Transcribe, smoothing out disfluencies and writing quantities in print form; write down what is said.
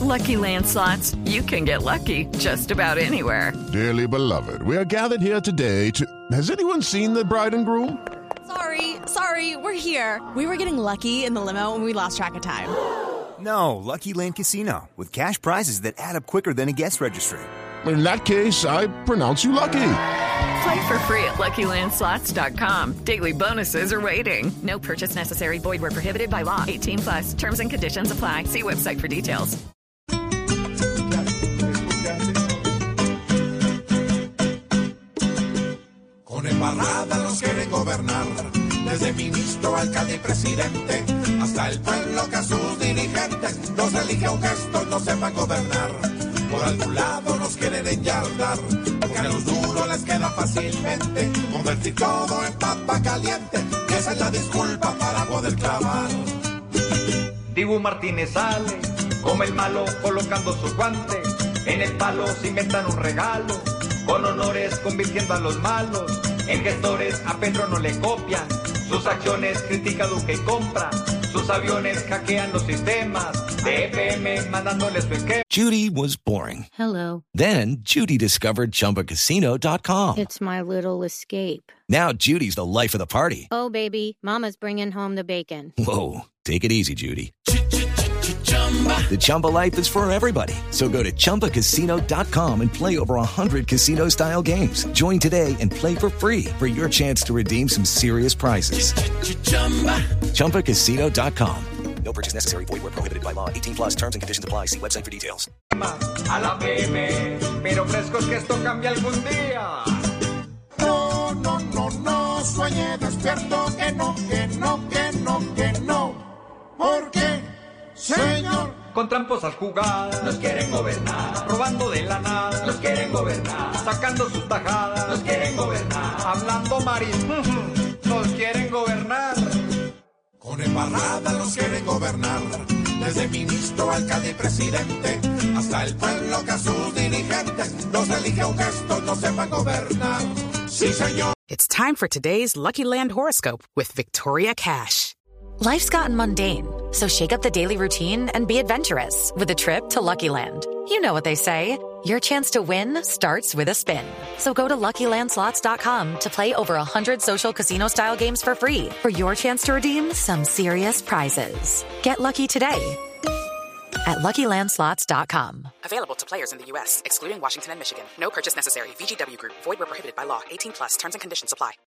Lucky Land Slots, you can get lucky just about anywhere. Dearly beloved, we are gathered here today to... Has anyone seen the bride and groom? Sorry, we're here. We were getting lucky in the limo and we lost track of time. No, Lucky Land Casino, with cash prizes that add up quicker than a guest registry. In that case, I pronounce you lucky. Play for free at LuckyLandSlots.com. Daily bonuses are waiting. No purchase necessary. Void where prohibited by law. 18+. Terms and conditions apply. See website for details. Con embarrada nos quieren gobernar, desde ministro, alcalde y presidente, hasta el pueblo que a sus dirigentes nos elige aunque estos no sepan gobernar. Por algún lado nos quieren enyardar, porque a los duros les queda fácilmente convertir todo en papa caliente, y esa es la disculpa para poder clavar. Dibu Martínez sale, como el malo colocando su guante, en el palo se inventan un regalo, con honores convirtiendo a los malos, en gestores a Petro no le copian, sus acciones critica Duque y compra, sus aviones hackean los sistemas, de EPM mandándoles su esquema. Judy was boring. Hello. Then Judy discovered ChumbaCasino.com. It's my little escape. Now Judy's the life of the party. Oh, baby, mama's bringing home the bacon. Whoa, take it easy, Judy. The Chumba life is for everybody. So go to ChumbaCasino.com and play over 100 casino-style games. Join today and play for free for your chance to redeem some serious prizes. ChumbaCasino.com. No purchase necessary. Void where prohibited by law. 18+. Terms and conditions apply. See website for details. A la PM, pero frescos que esto cambia algún día. No, sueñe despierto, que no. ¿Por qué, señor? Con tramposas jugadas, nos quieren gobernar. Robando de la nada, nos quieren gobernar. Sacando sus tajadas, nos quieren gobernar. Hablando marín, nos quieren gobernar. Con embarrada nos quieren gobernar, desde ministro, alcalde y presidente, hasta el pueblo que a sus dirigentes nos elige aunque estos no sepan gobernar. Sí, señor. It's time for today's Lucky Land horoscope with Victoria Cash. Life's gotten mundane, so shake up the daily routine and be adventurous with a trip to Lucky Land. You know what they say, your chance to win starts with a spin. So go to LuckyLandSlots.com to play over 100 social casino-style games for free for your chance to redeem some serious prizes. Get lucky today at LuckyLandSlots.com. Available to players in the U.S., excluding Washington and Michigan. No purchase necessary. VGW Group. Void where prohibited by law. 18+. Terms and conditions apply.